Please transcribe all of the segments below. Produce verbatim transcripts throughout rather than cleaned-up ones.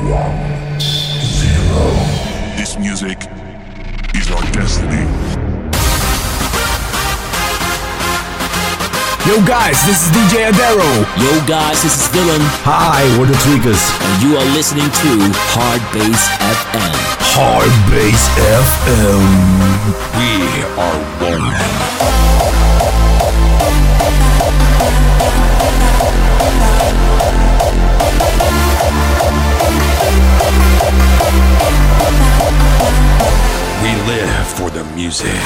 This music is our destiny. Yo guys, this is D J Adero. Yo guys, this is Dylan. Hi, we're the Tweakers. And you are listening to Hard Bass F M. Hard Bass F M. We are one. We live for the music.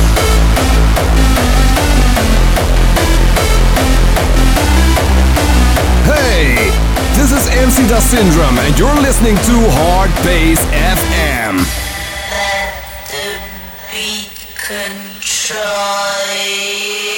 Hey, this is M C Da Syndrome and you're listening to Hard Bass F M. Let the beat control you.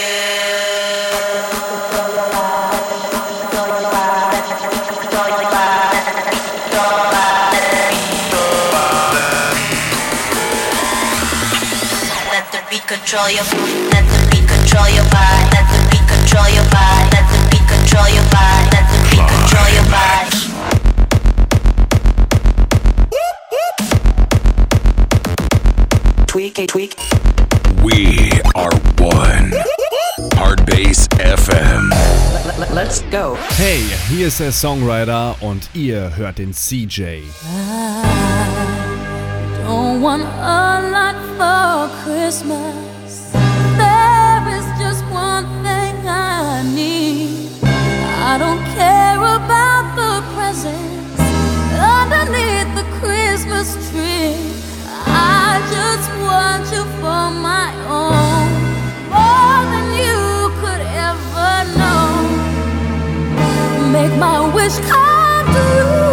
Let the beat control your let the beat control your body. Let the beat control your body. Let the beat control your body. Let the beat control your body. Tweak a tweak. We are one. Hard Bass F M. Let's go. Hey, hier ist der Songwriter und ihr hört den C J. Don't want a lot for Christmas. There is just one thing I need. I don't care about the presents underneath the Christmas tree. I just want you for my own, more than you could ever know. Make my wish come true.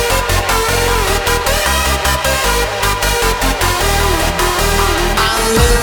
I'm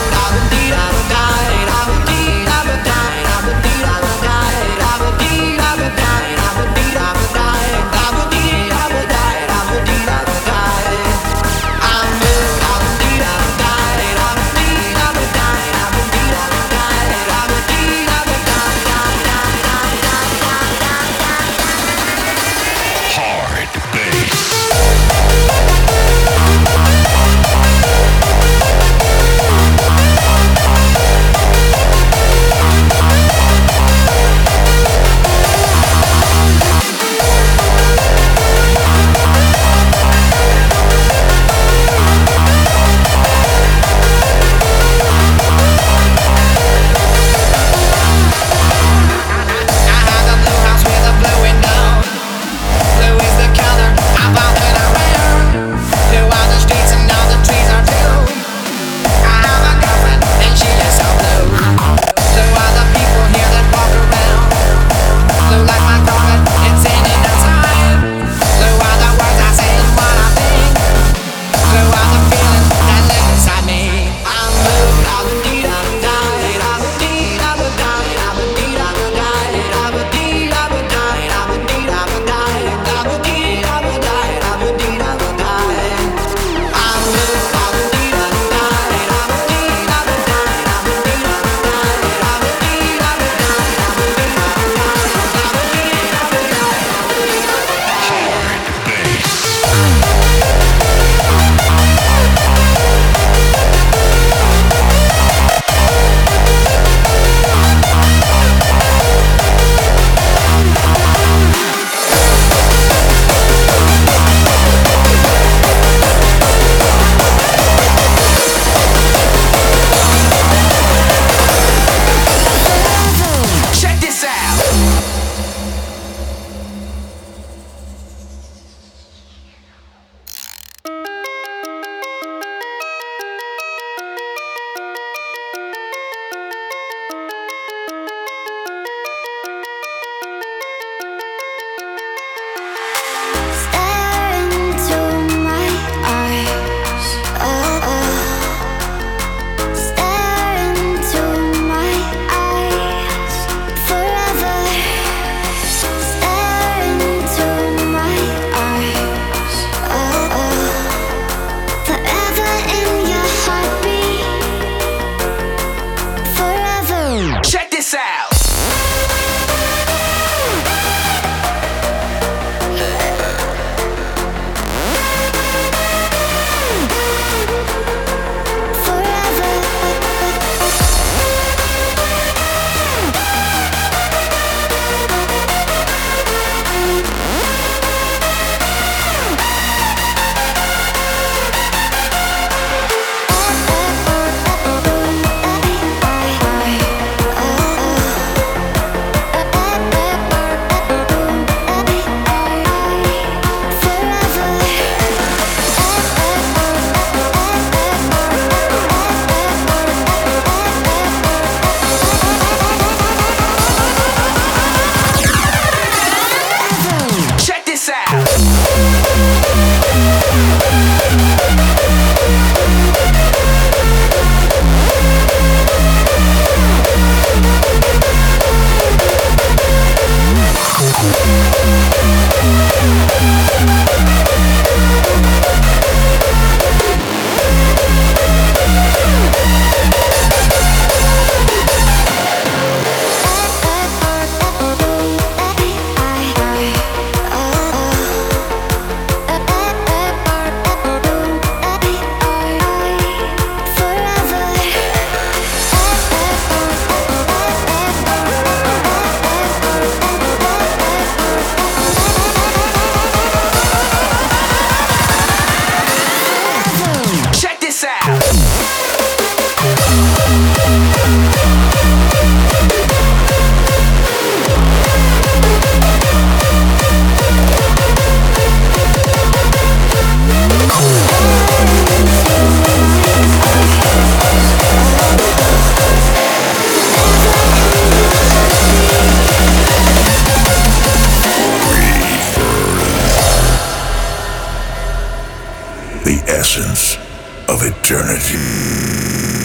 of eternity.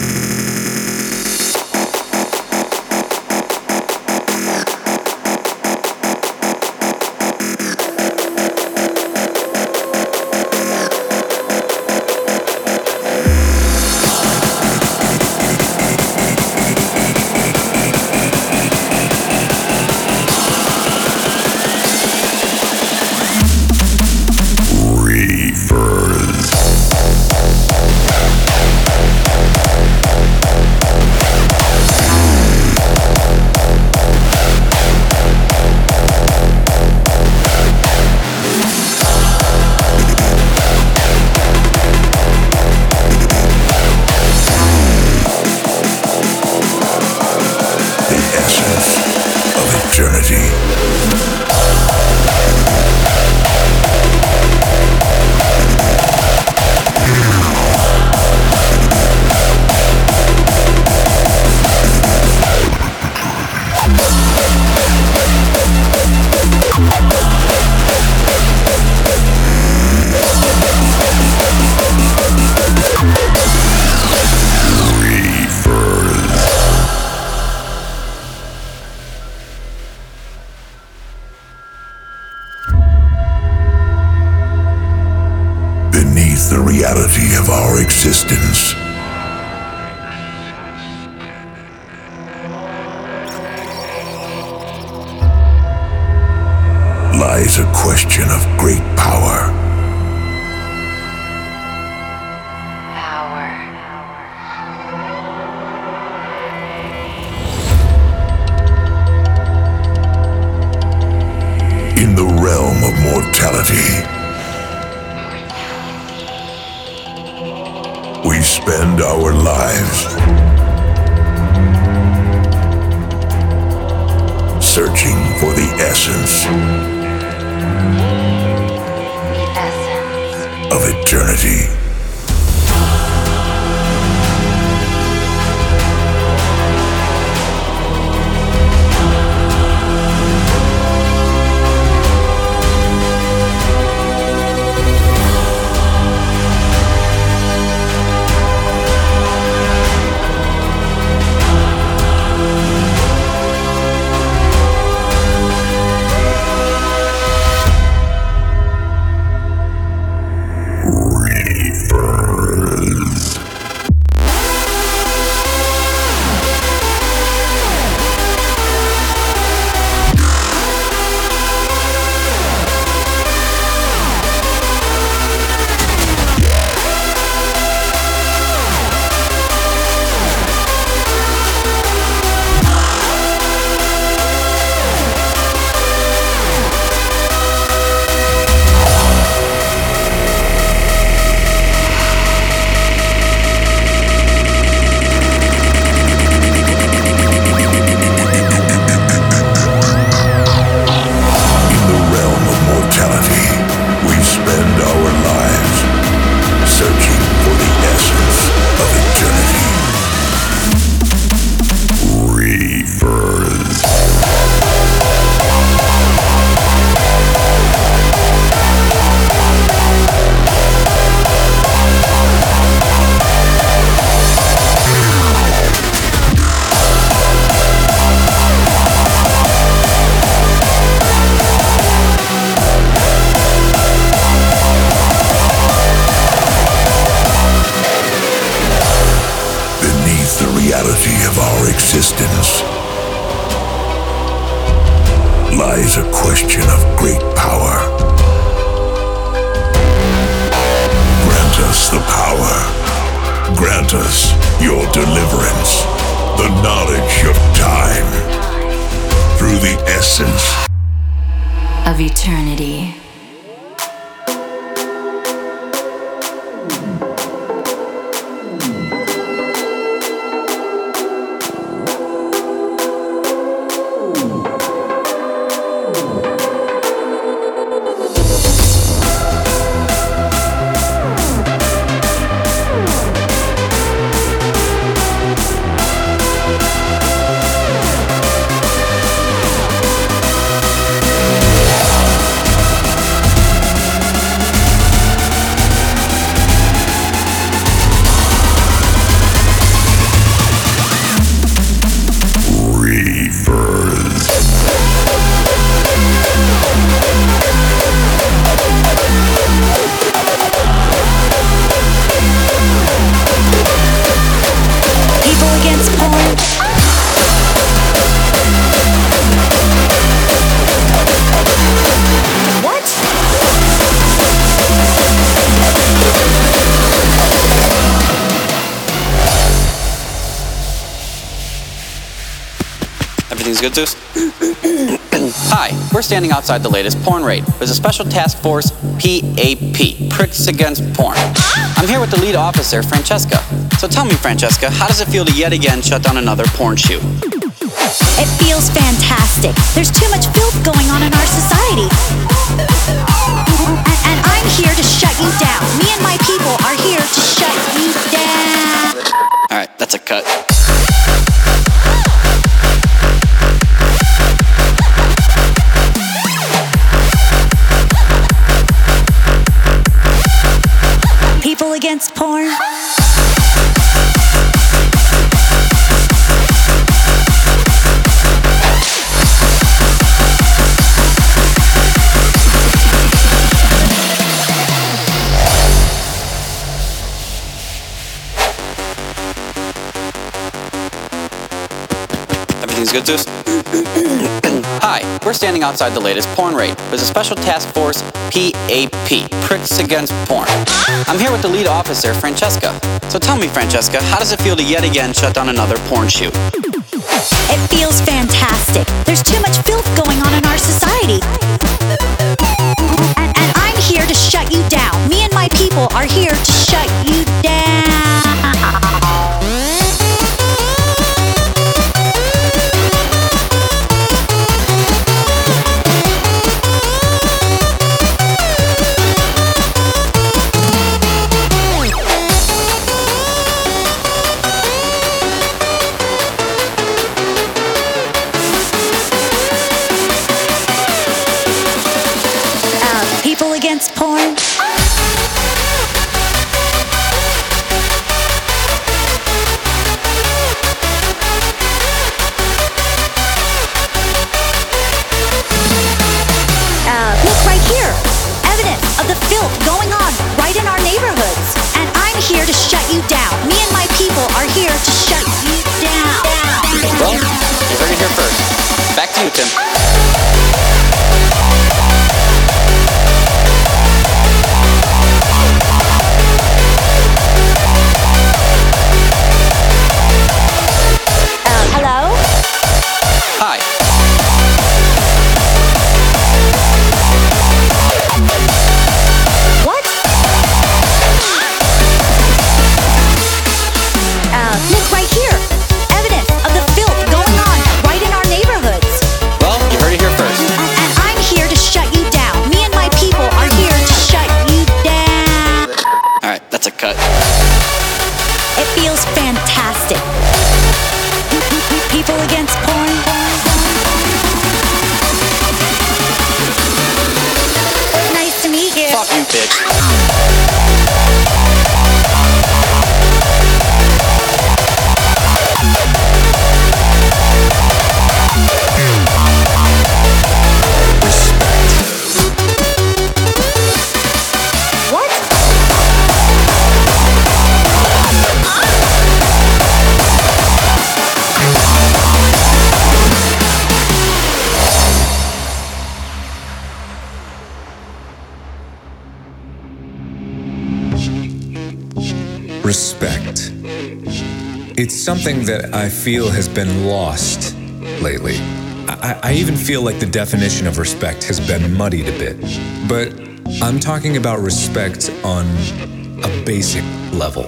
The reality of our existence lies a question of great power. Power. In the realm of mortality, we spend our lives searching for the essence, essence of eternity. Existence lies a question of great power. Grant us the power. Grant us your deliverance, the knowledge of time, through the essence of eternity. People against porn. What? Everything's good, Zeus? Hi, we're standing outside the latest porn raid. There's a special task force, P A P, Pricks Against Porn. I'm here with the lead officer, Francesca. So tell me, Francesca, how does it feel to yet again shut down another porn shoot? It feels fantastic. There's too much filth going on in our society. And, and I'm here to shut you down. Me and my people are here to shut you down. Alright, that's a cut. People against porn. Everything's good, Zeus? Hi, we're standing outside the latest porn raid. There's a special task force, P A P, Pricks Against Porn. I'm here with the lead officer, Francesca. So tell me, Francesca, how does it feel to yet again shut down another porn shoot? It feels fantastic. There's too much filth going on in our society. And, and I'm here to shut you down. Me and my people are here to shut you down. Against porn. Uh, look right here. Evidence of the filth going on right in our neighborhoods. And I'm here to shut you down. Me and my people are here to shut you down. Well, you heard it here first. Back to you, Tim. Respect. It's something that I feel has been lost lately. I, I even feel like the definition of respect has been muddied a bit. But I'm talking about respect on a basic level.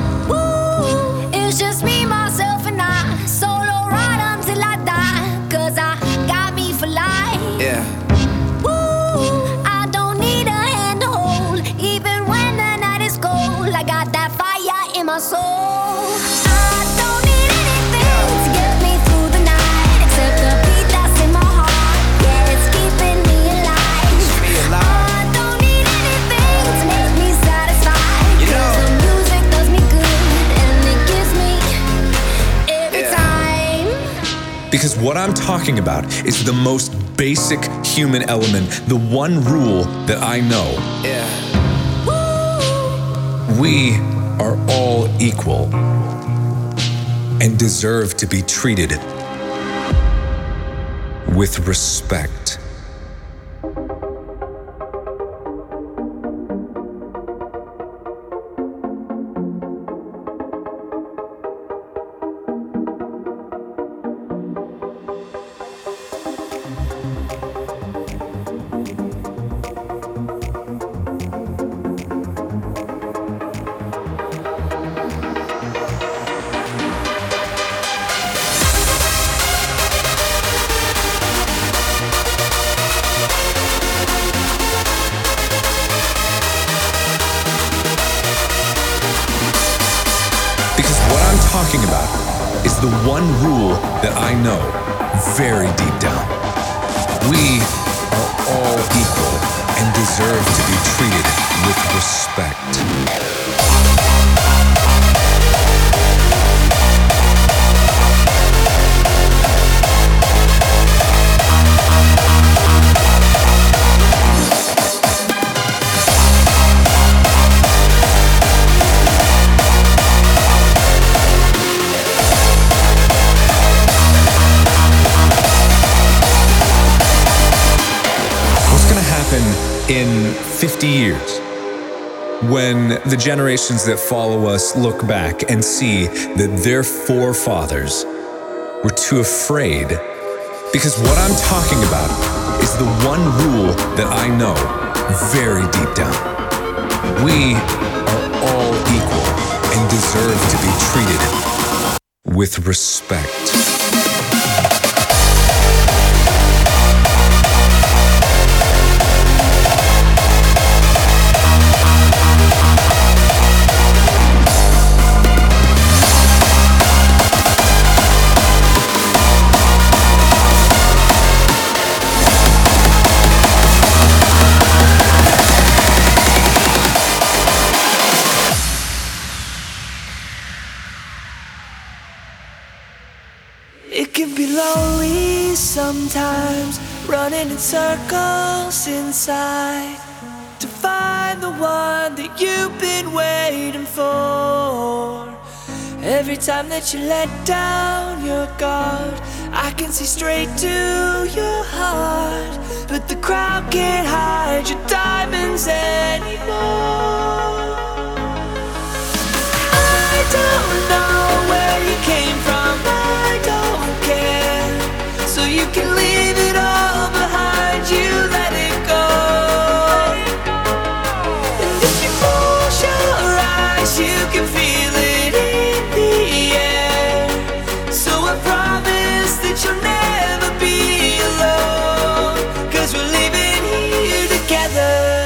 Ooh, it's just me, myself, and I. Solo ride until I die. Cause I got me for life. Yeah. Ooh, I don't need a hand to hold. Even when the night is cold, I got that fire in my soul. I don't need anything to get me through the night, except the beat that's in my heart. Yeah, it's keeping me alive. I don't need anything to make me satisfied. You know, cause the music does me good and it gives me every yeah. time. Because what I'm talking about is the most basic human element, the one rule that I know. Yeah. We are all equal. and deserve to be treated with respect. Talking about is the one rule that I know very deep down. We are all equal and deserve to be treated with respect. In fifty years, when the generations that follow us look back and see that their forefathers were too afraid, because what I'm talking about is the one rule that I know very deep down. We are all equal and deserve to be treated with respect. Sometimes running in circles inside to find the one that you've been waiting for. Every time that you let down your guard, I can see straight to your heart, but the crowd can't hide your diamonds anymore. I don't know where you came from, I don't care, so you can leave it all behind you, let it go. And if you close your eyes, you can feel it in the air. So I promise that you'll never be alone, 'cause we're living here together.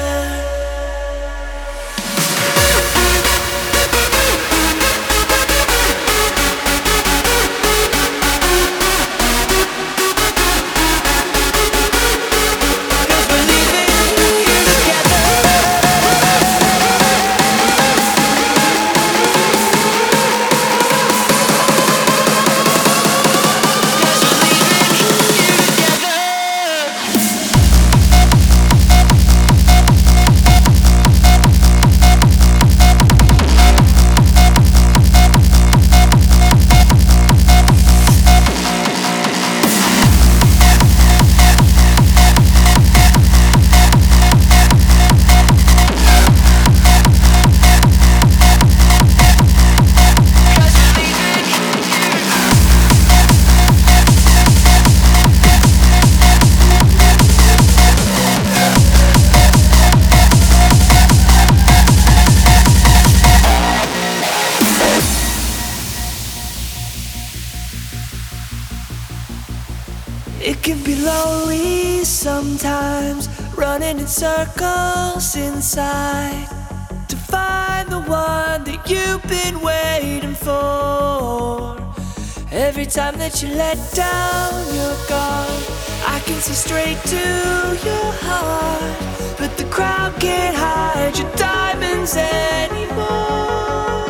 It can be lonely sometimes, running in circles inside to find the one that you've been waiting for. Every time that you let down your guard, I can see straight to your heart, but the crowd can't hide your diamonds anymore.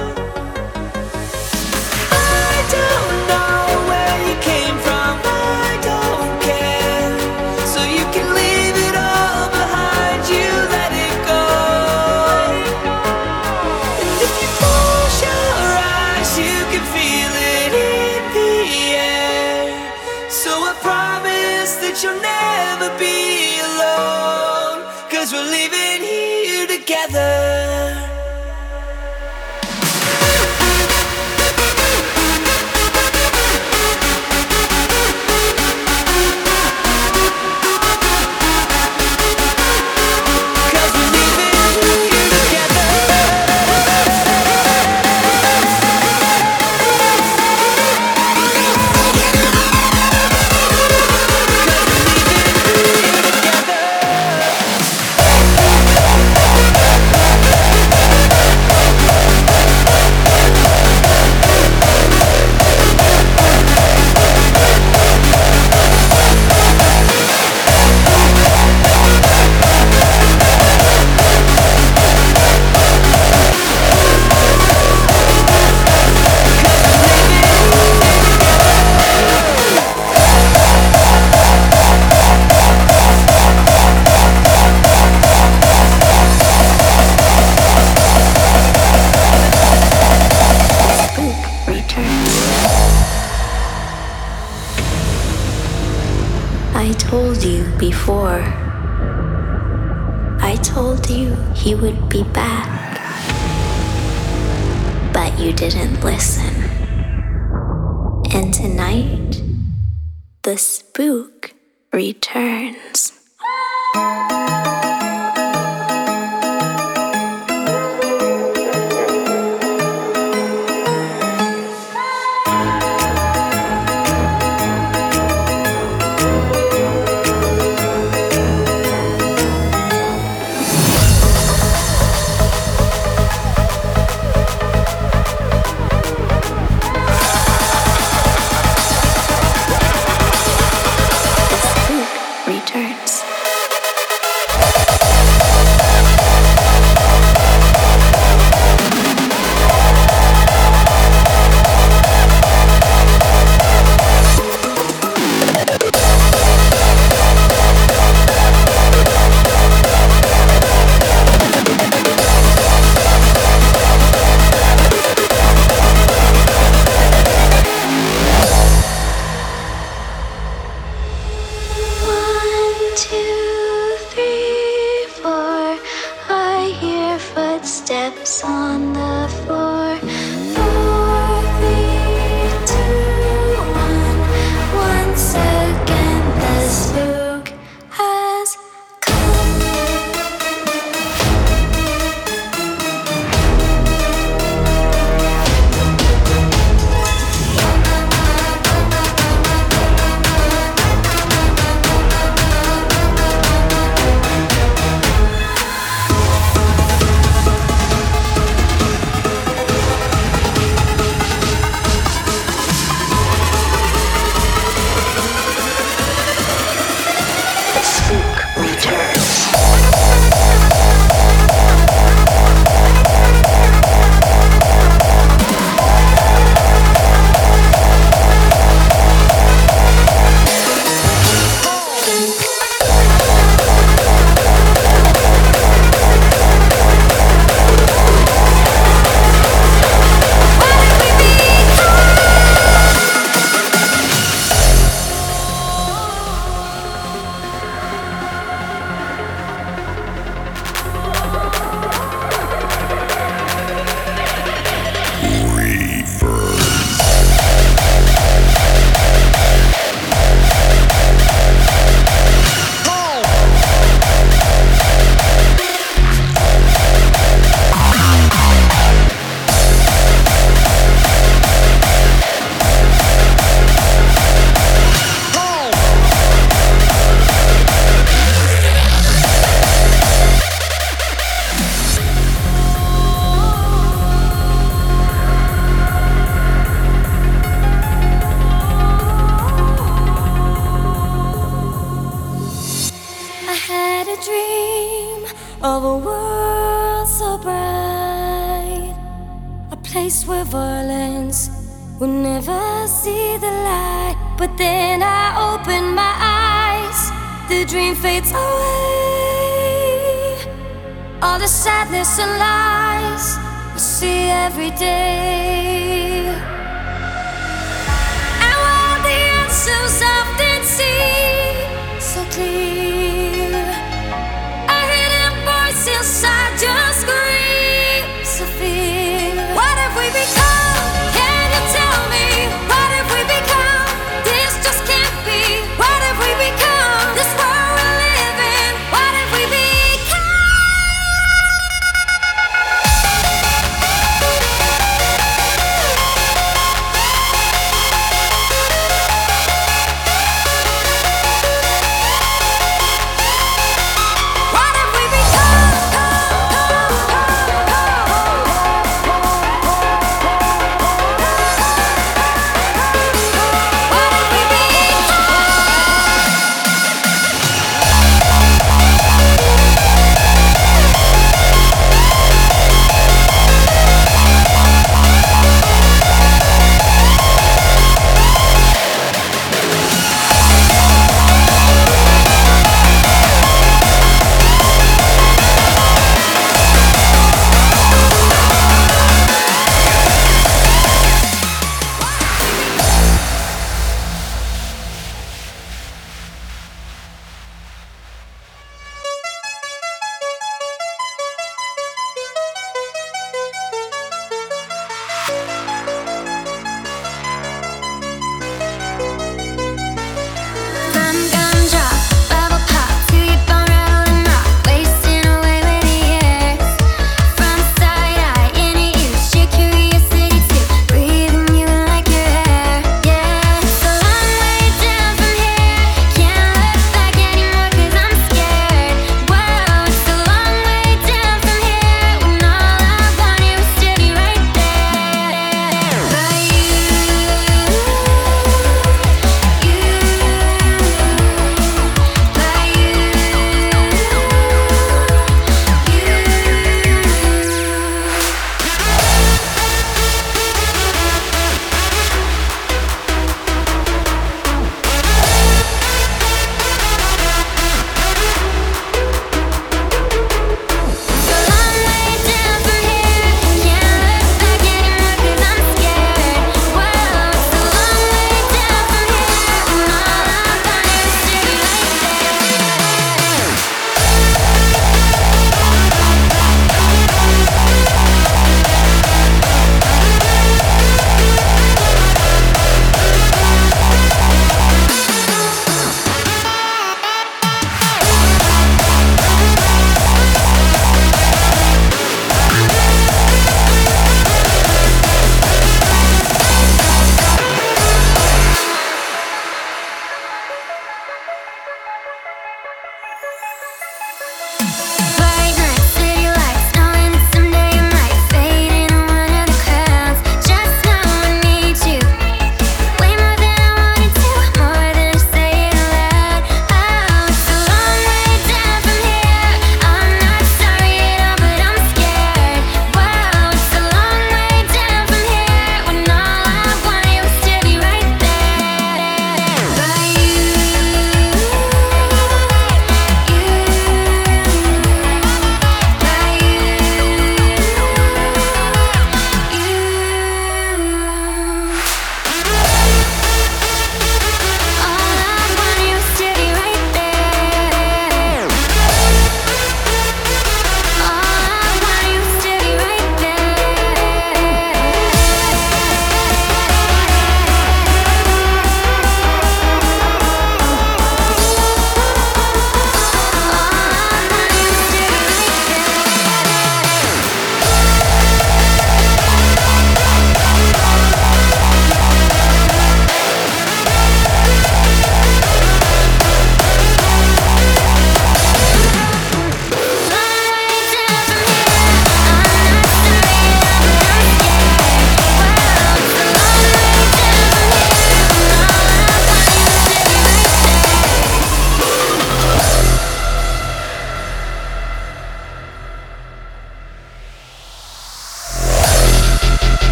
I don't know where you came from, I don't care, so you can leave it all behind you, let it go. And if you close your eyes, you can feel it in that you'll never be alone, 'cause we're leaving here together. Before, I told you he would be back, but you didn't listen. And tonight, the spook returns. And lies we see every day, and while the answers often seem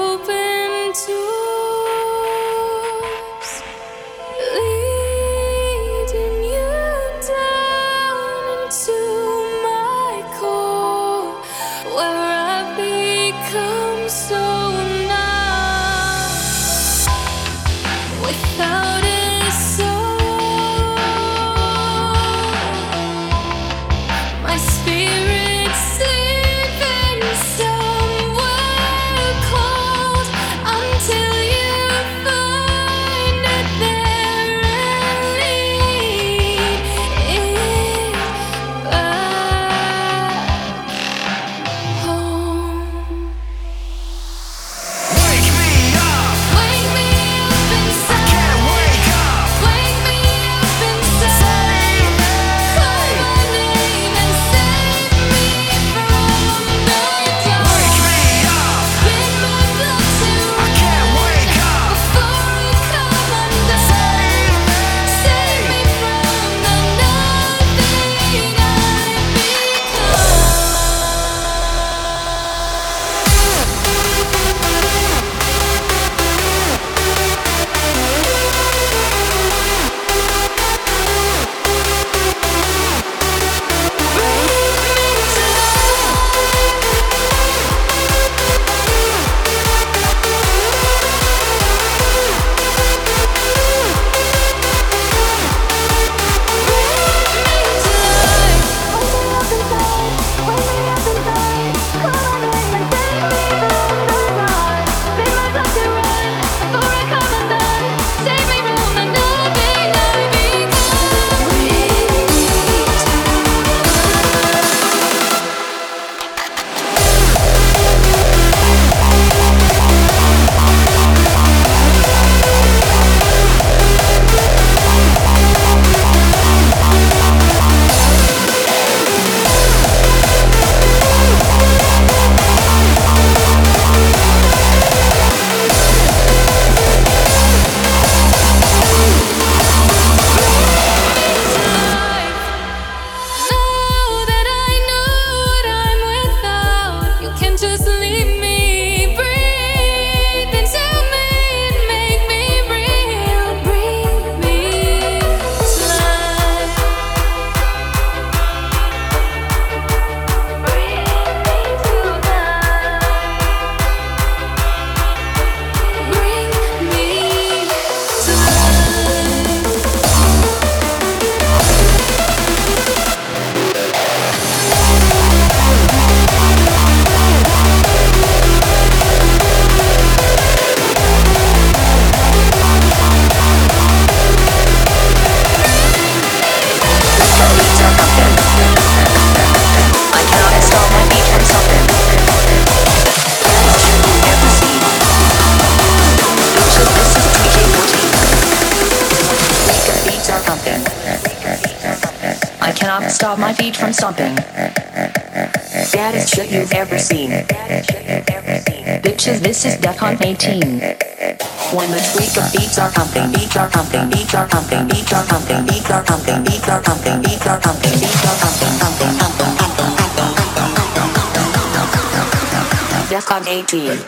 open doors, leading you down into my core, where I become so numb without a soul. My spirit sleeping somewhere cold until you find it there and lead it back home. Wake me up. Wake me up inside. I can't wake up. Wake me up inside. Call my name and save me from the dark. Wake me up. Get my blood to I can't wake up. before I come undone. Save me from the nothing Stop my feet from stomping. Baddest shit you've ever seen. Bitches, this is Defcon eighteen. When the tweak of beats are pumping, beats are pumping, beats are pumping, beats are pumping, beats are pumping, beats are pumping, beats are pumping, beats are pumping, pumping, pumping, pumping, pumping. Defcon eighteen.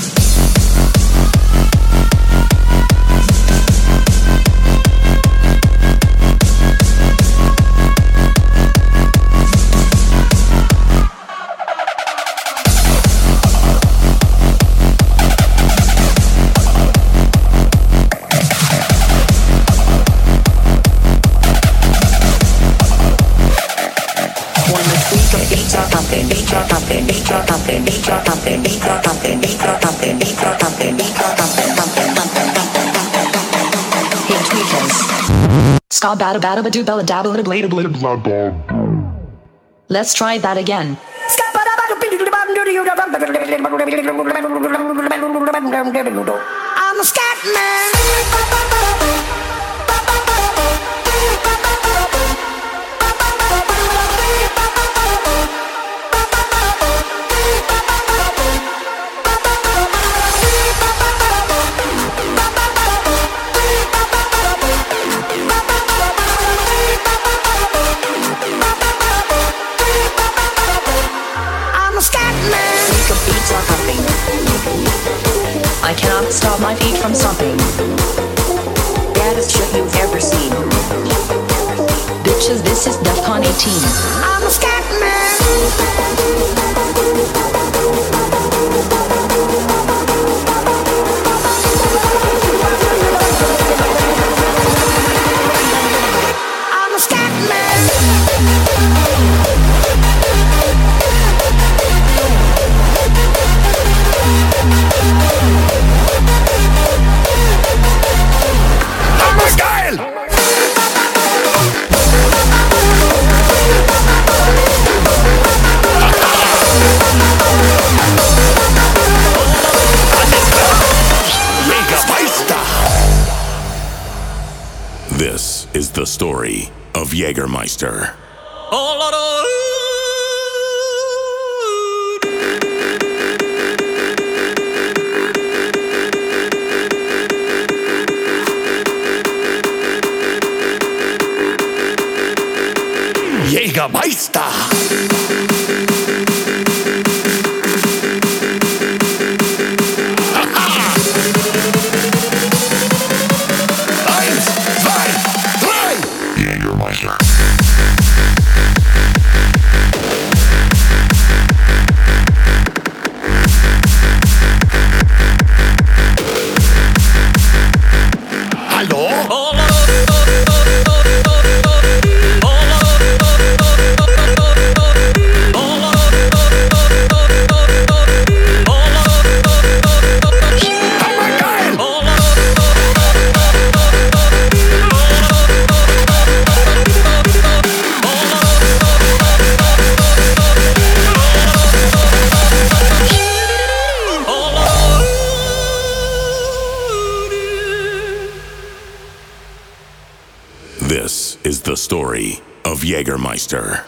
Ska bada bada ba do bella dabba da blade blade blah blah. Let's try that again. I'm a scat man. I'm a scat man. Beats are pumping. I cannot stop my feet from stomping. Baddest shit you've ever seen. Bitches, this is DEFCON eighteen. I'm a scat man. I'm a scat man. I'm a style. This is the story of Jägermeister. Jägermeister. Eins, zwei, drei. Jägermeister. Hallo? This is the story of Jägermeister.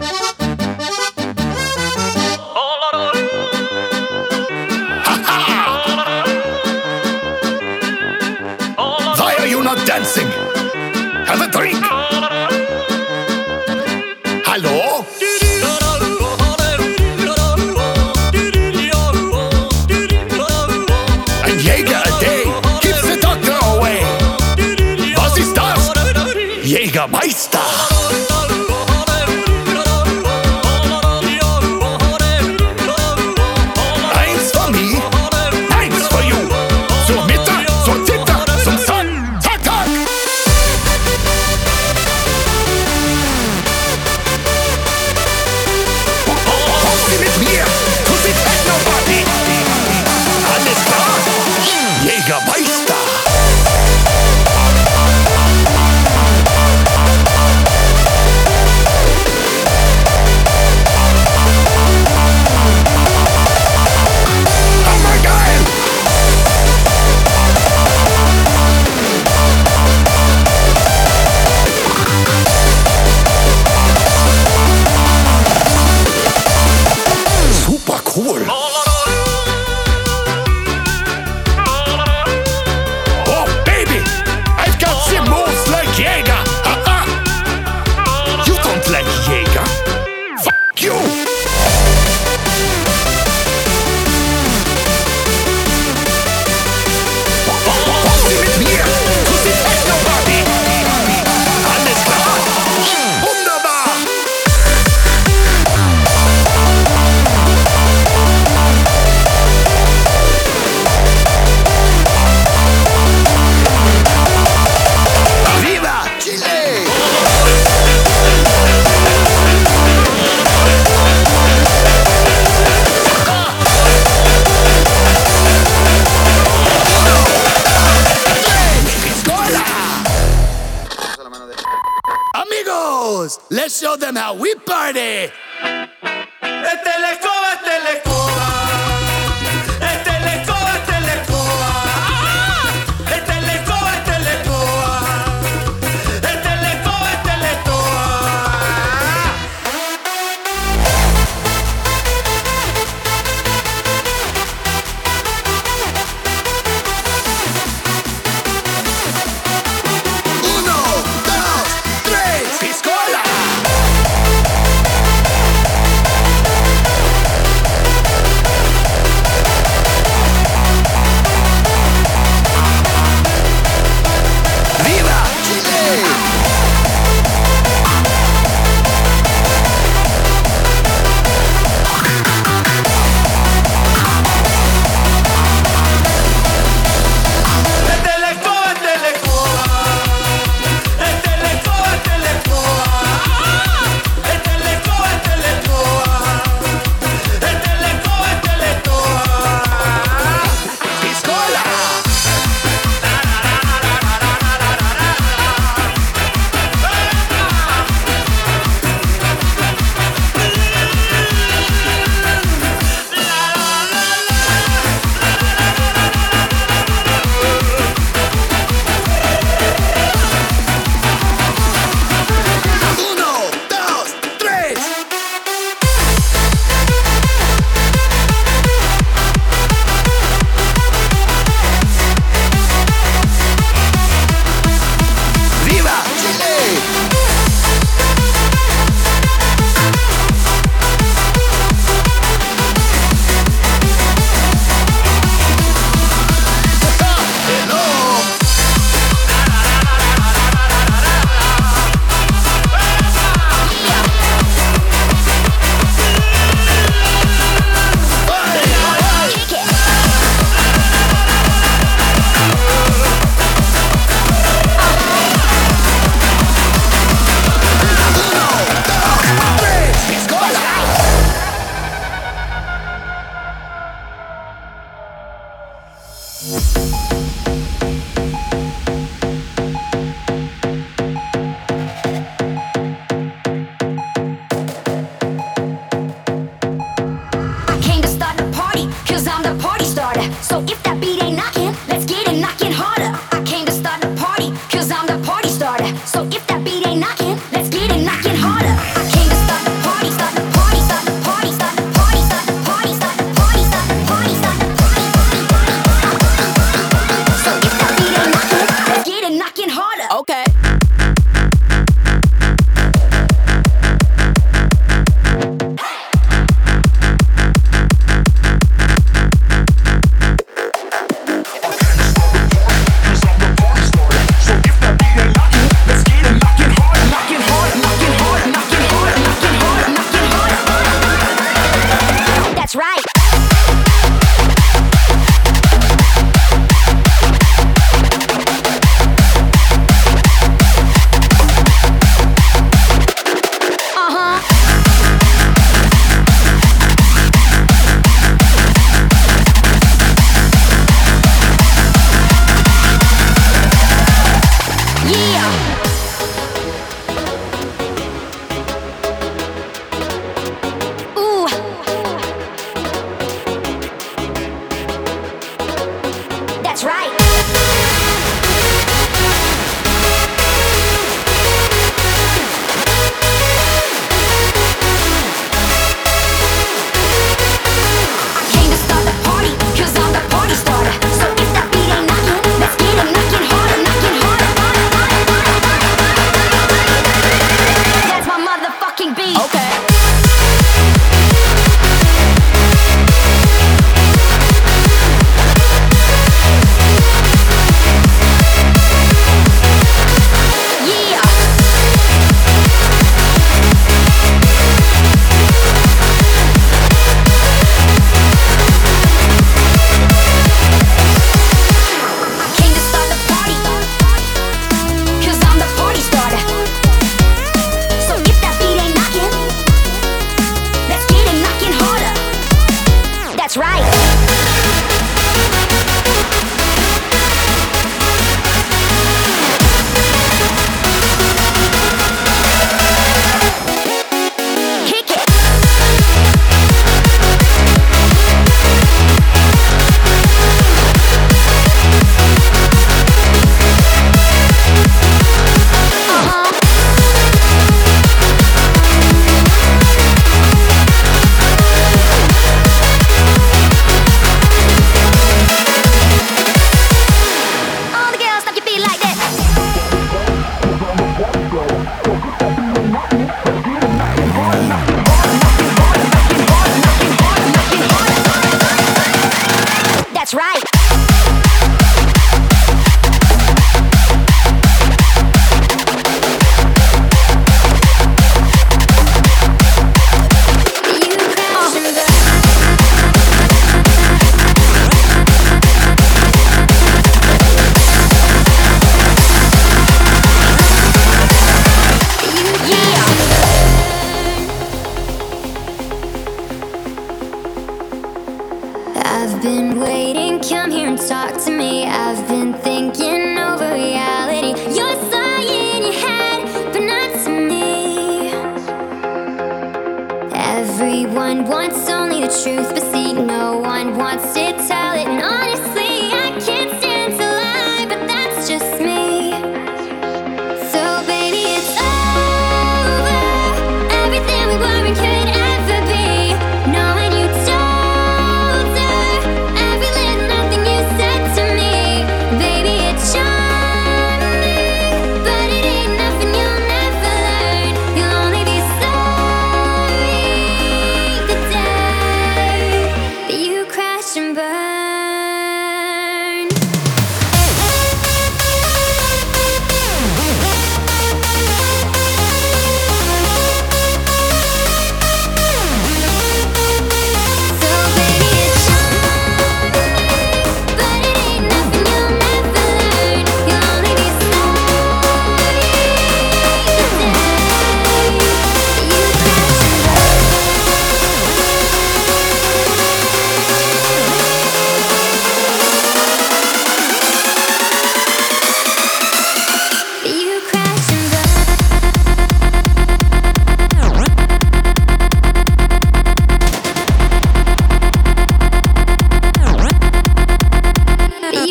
Why are you not dancing? Have a drink. Hallo? Ein Jäger a day keeps the doctor away. Was ist das? Jägermeister. Eins for me, eins for you. Zur Mitte, zur Zitter, zum Sun. Zack, zack. Komm sie mit mir, to the Techno-Party. Alles klar? Jägermeister. Super cool. Oh baby, I've got some moves like Jäger. Ha-ha. You don't like Jäger. Fuck you. Komm sie mit mir to the Techno-Party. Alles klar? Wunderbar. Viva Chile! Amigos, let's show them how we party. Esta es la escoba, esta es la escoba. Esta es la escoba, esta es la escoba. Esta es la escoba, esta es la escoba. Esta es la escoba, esta es la escoba. Uno, dos, tres, piscola.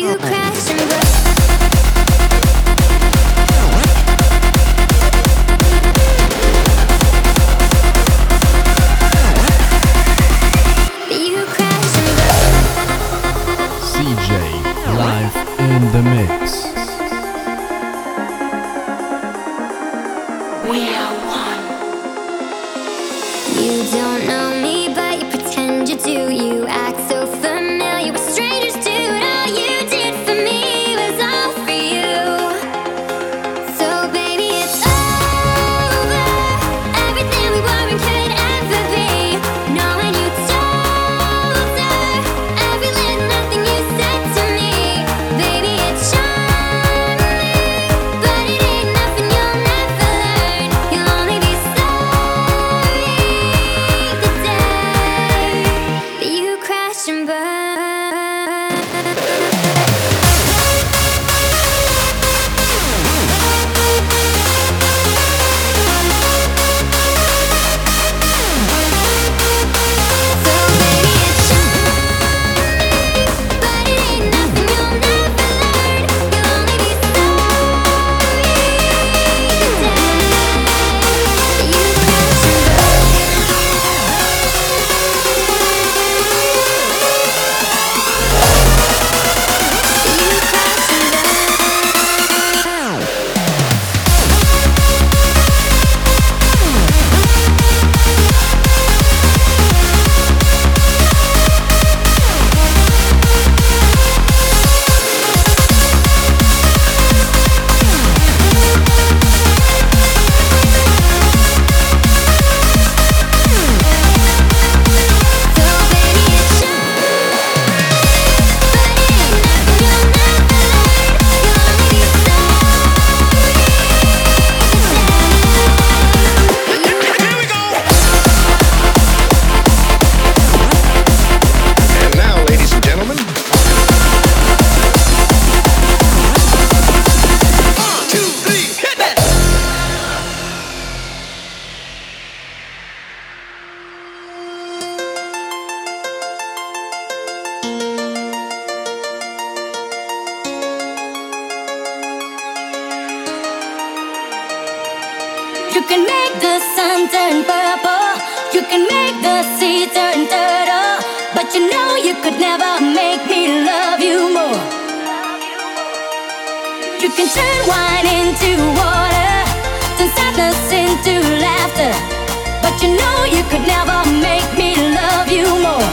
You can make the sun turn purple, you can make the sea turn turtle, but you know you could never make me love you more. You can turn wine into water, turn sadness into laughter, but you know you could never make me love you more.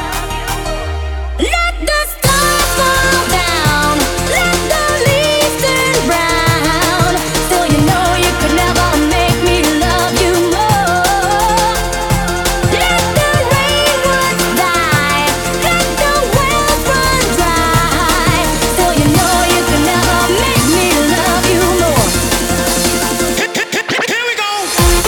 Let the stars fall down, let the leaves turn brown, still you know you could never make me love you more. Let the rainwoods die, let the wells run dry, still you know you could never make me love you more. Here we go.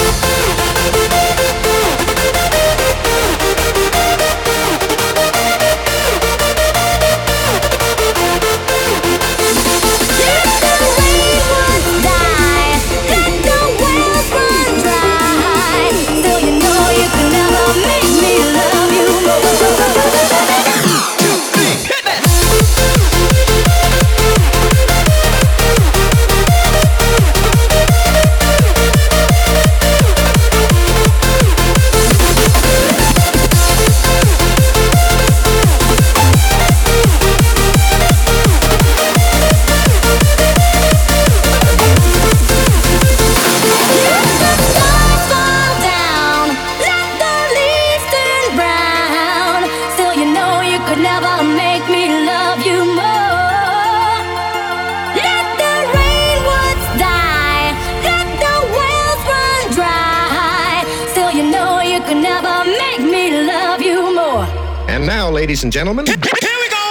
And now, ladies and gentlemen, Here we go.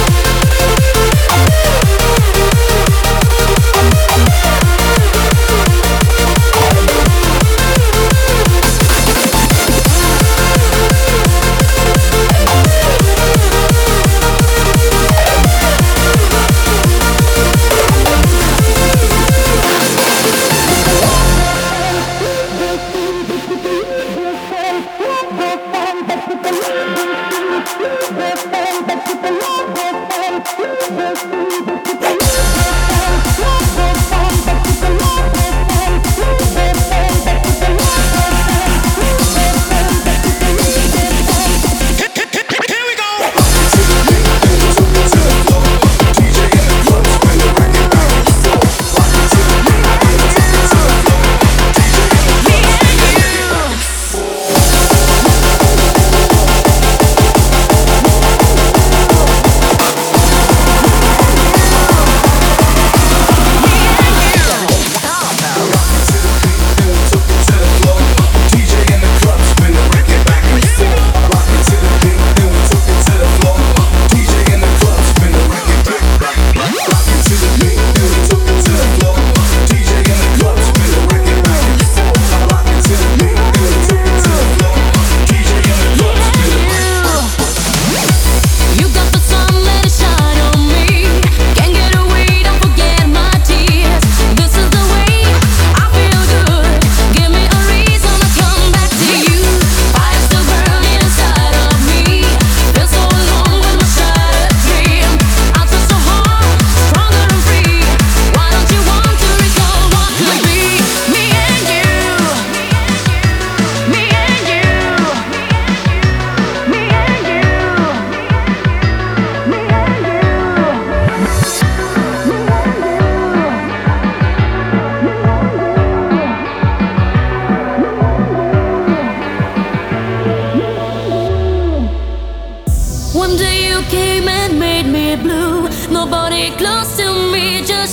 We'll be right back.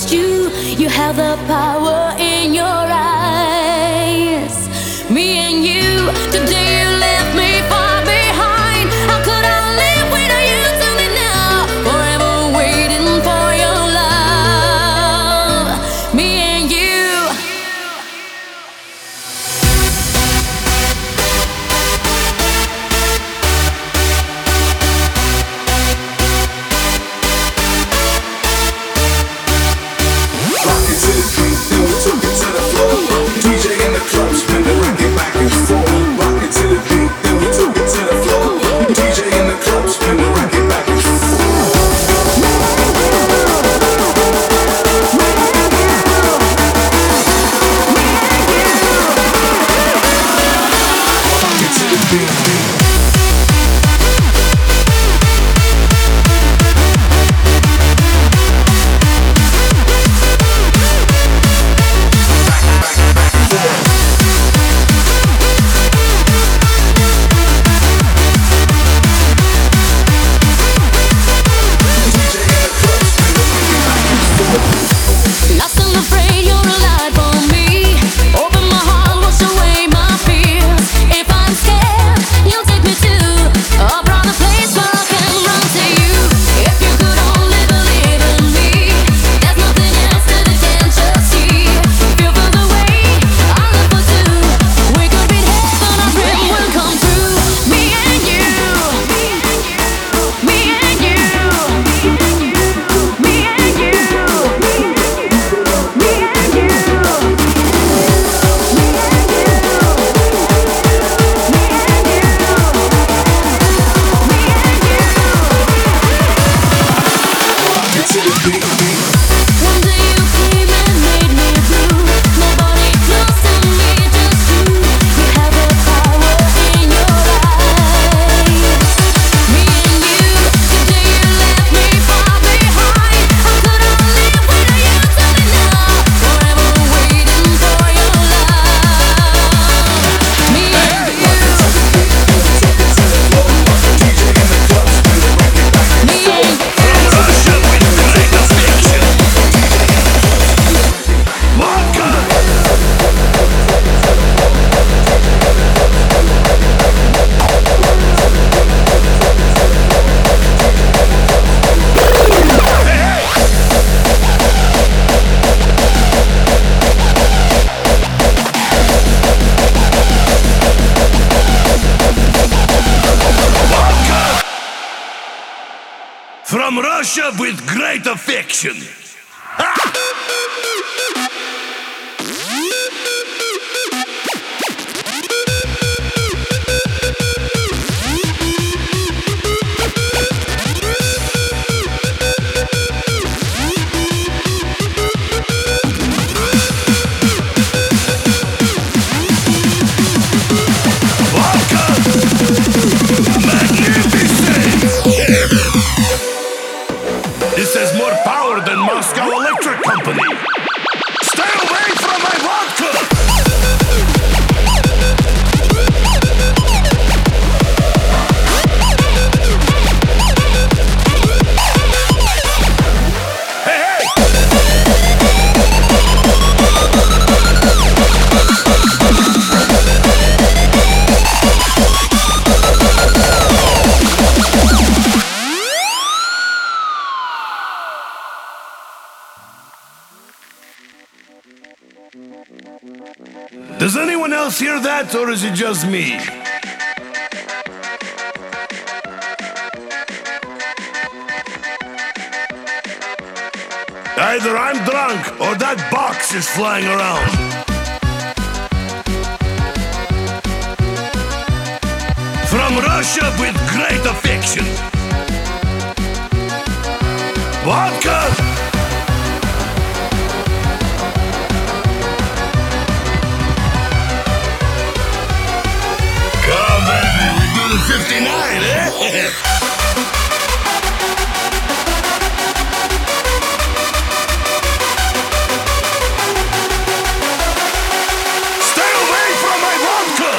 trust you. You have the power in your eyes. Me and you, today you left me far behind. How could I live without you to me now? Forever waiting for your love. Me and you. From Russia with great affection. This has more power than Moscow Electric Company. Stay away from my vodka! Hey, hey! Does anyone else hear that, or is it just me? Either I'm drunk, or that box is flying around. From Russia with great affection. Vodka! Come, baby, we do the fifty-nine, eh? Stay away from my vodka!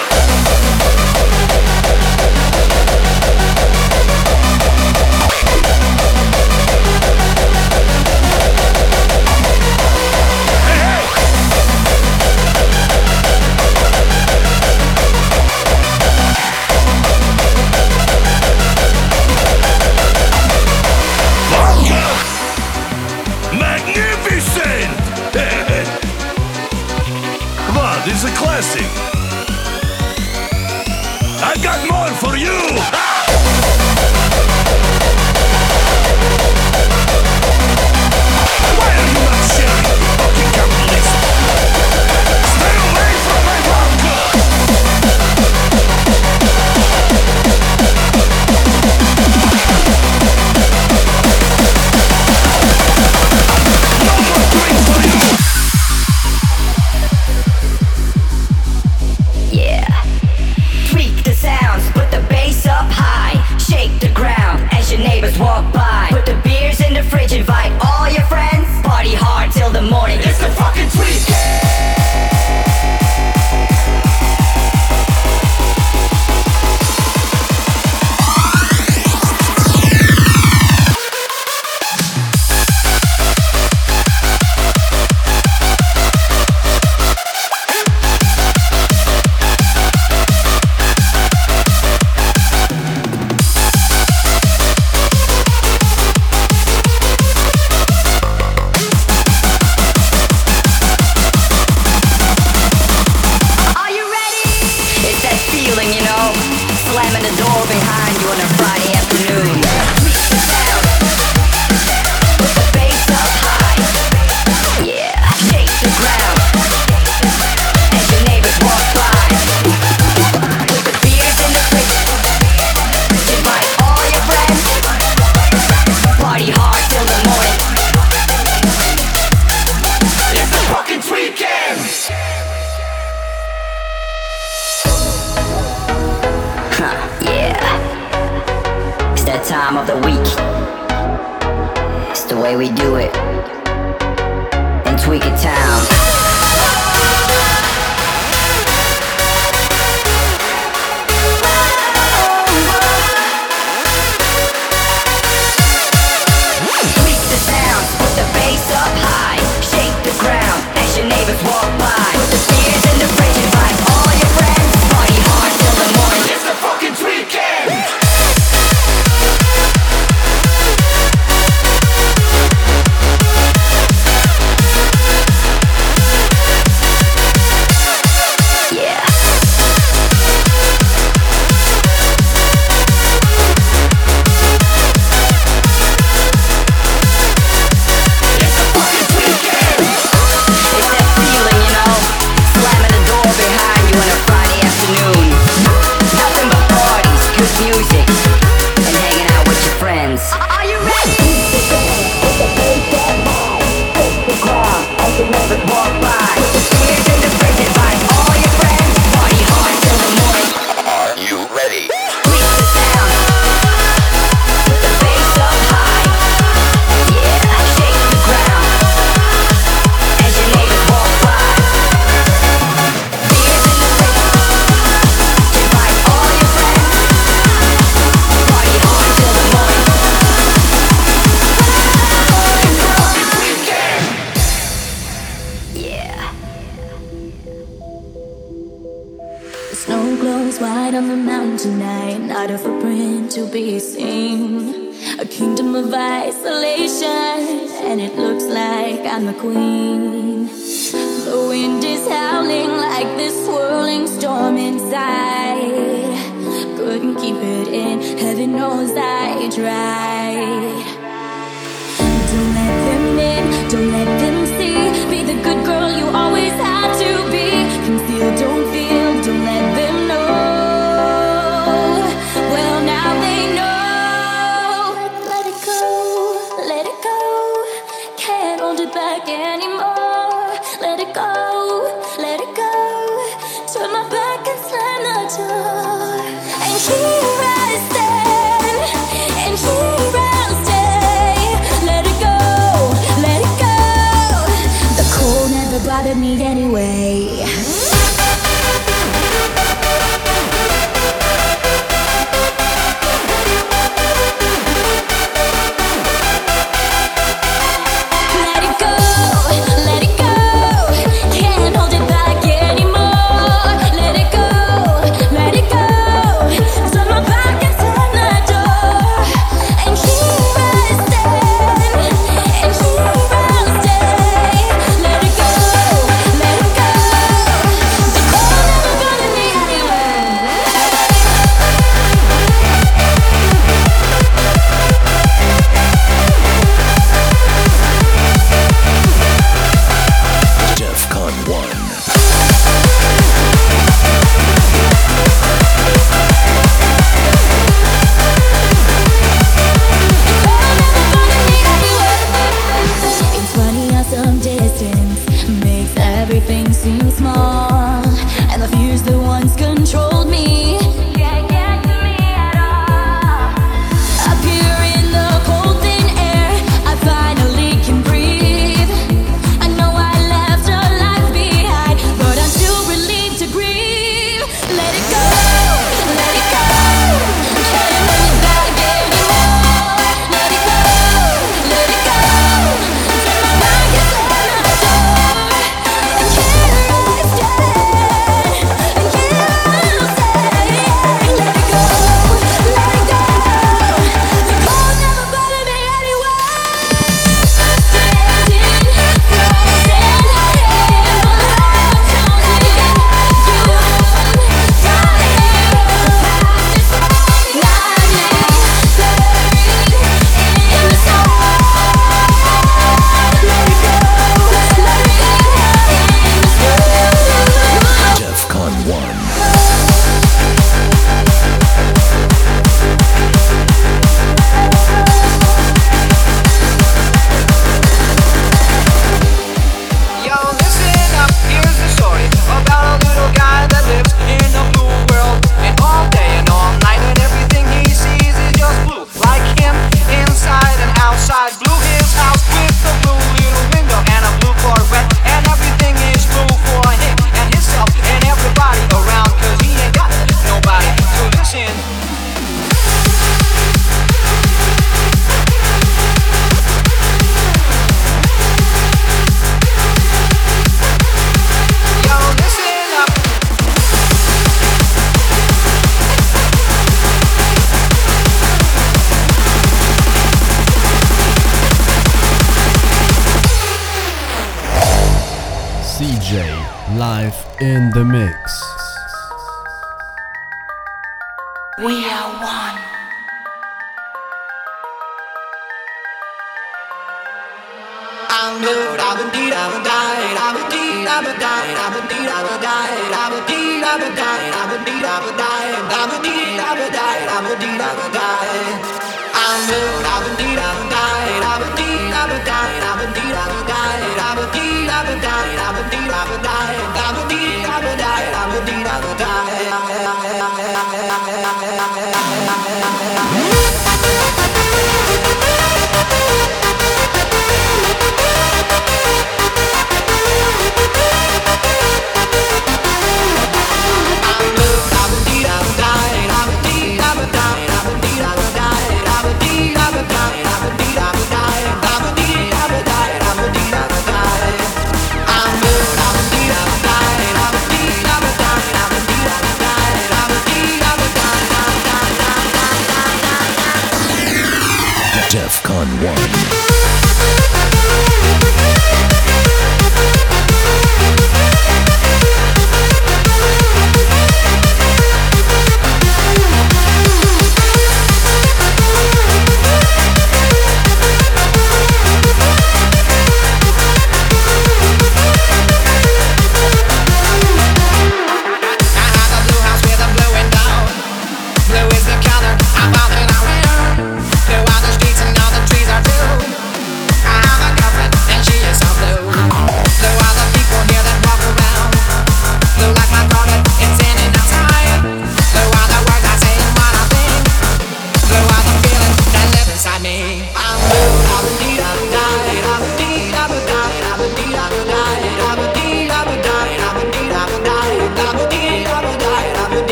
music. I got more for you. Why are you not sharing, fucking capitalist? Stay away from my bunker. No more drinks for you. Yeah. Tweak the sounds, put the bass up high. Shake the ground as your neighbors walk by. Put the beers in the fridge, invite all your friends. Party hard till the morning. It's the fucking tweak. Time of the week. It's the way we do it in Tweak It Town. Tweak the sound, put the bass up high. Shake the ground as your neighbors walk by. Put the beers in the fridge, invite all your friends. Party hard till the morning. It's the fucking Tweakend. A kingdom of isolation, and it looks like I'm the queen. The wind is howling like this swirling storm inside. Couldn't keep it in, heaven knows I tried. Don't let them in, don't let them see. Be the good girl you always had to be. Conceal, don't feel, don't let them know. Well, now they know. Back anymore. Let it go, let it go. Turn my back once controlled me. Can't get to me at all. Up here in the cold thin air, I finally can breathe. I know I left a life behind, but I'm still relieved to grieve. Let it go, let it go. Can't hold it back anymore. Let it go, let it go. Till my mind gets on the door. And here I stand, and here I'll say, let it go, let it go. The cold never bothered me anyway. Standing frozen in the love told me you won't find me. The past is not me, buried in the snow. Let it go, let it go in the snow. DEFCON one. Yo, listen up, here's the story about a little guy that lives in a blue world. And all day and all night, and everything he sees is just blue. Like him, inside and outside. Blue his house with a blue little window and a blue Corvette. And everything is blue for him and himself and everybody around. Cause he ain't got nobody to listen. Yo, listen up. C J live in the mix. We are one. I'm good, I'm indeed, I'm a died, I'm indeed, I'm a died, I'm indeed, I'm a died, I'm indeed, I'm a died, I'm indeed, I'm a died, I'm indeed, I'm a died, I'm indeed, I'm a died. I'm good, I'm indeed, I'm a died, I'm indeed, I'm a died, I'm indeed, I'm a died, I'm indeed, I'm a died, I'm indeed, I'm a died, I'm indeed, I'm a died, I'm indeed, I'm a DEFCON one.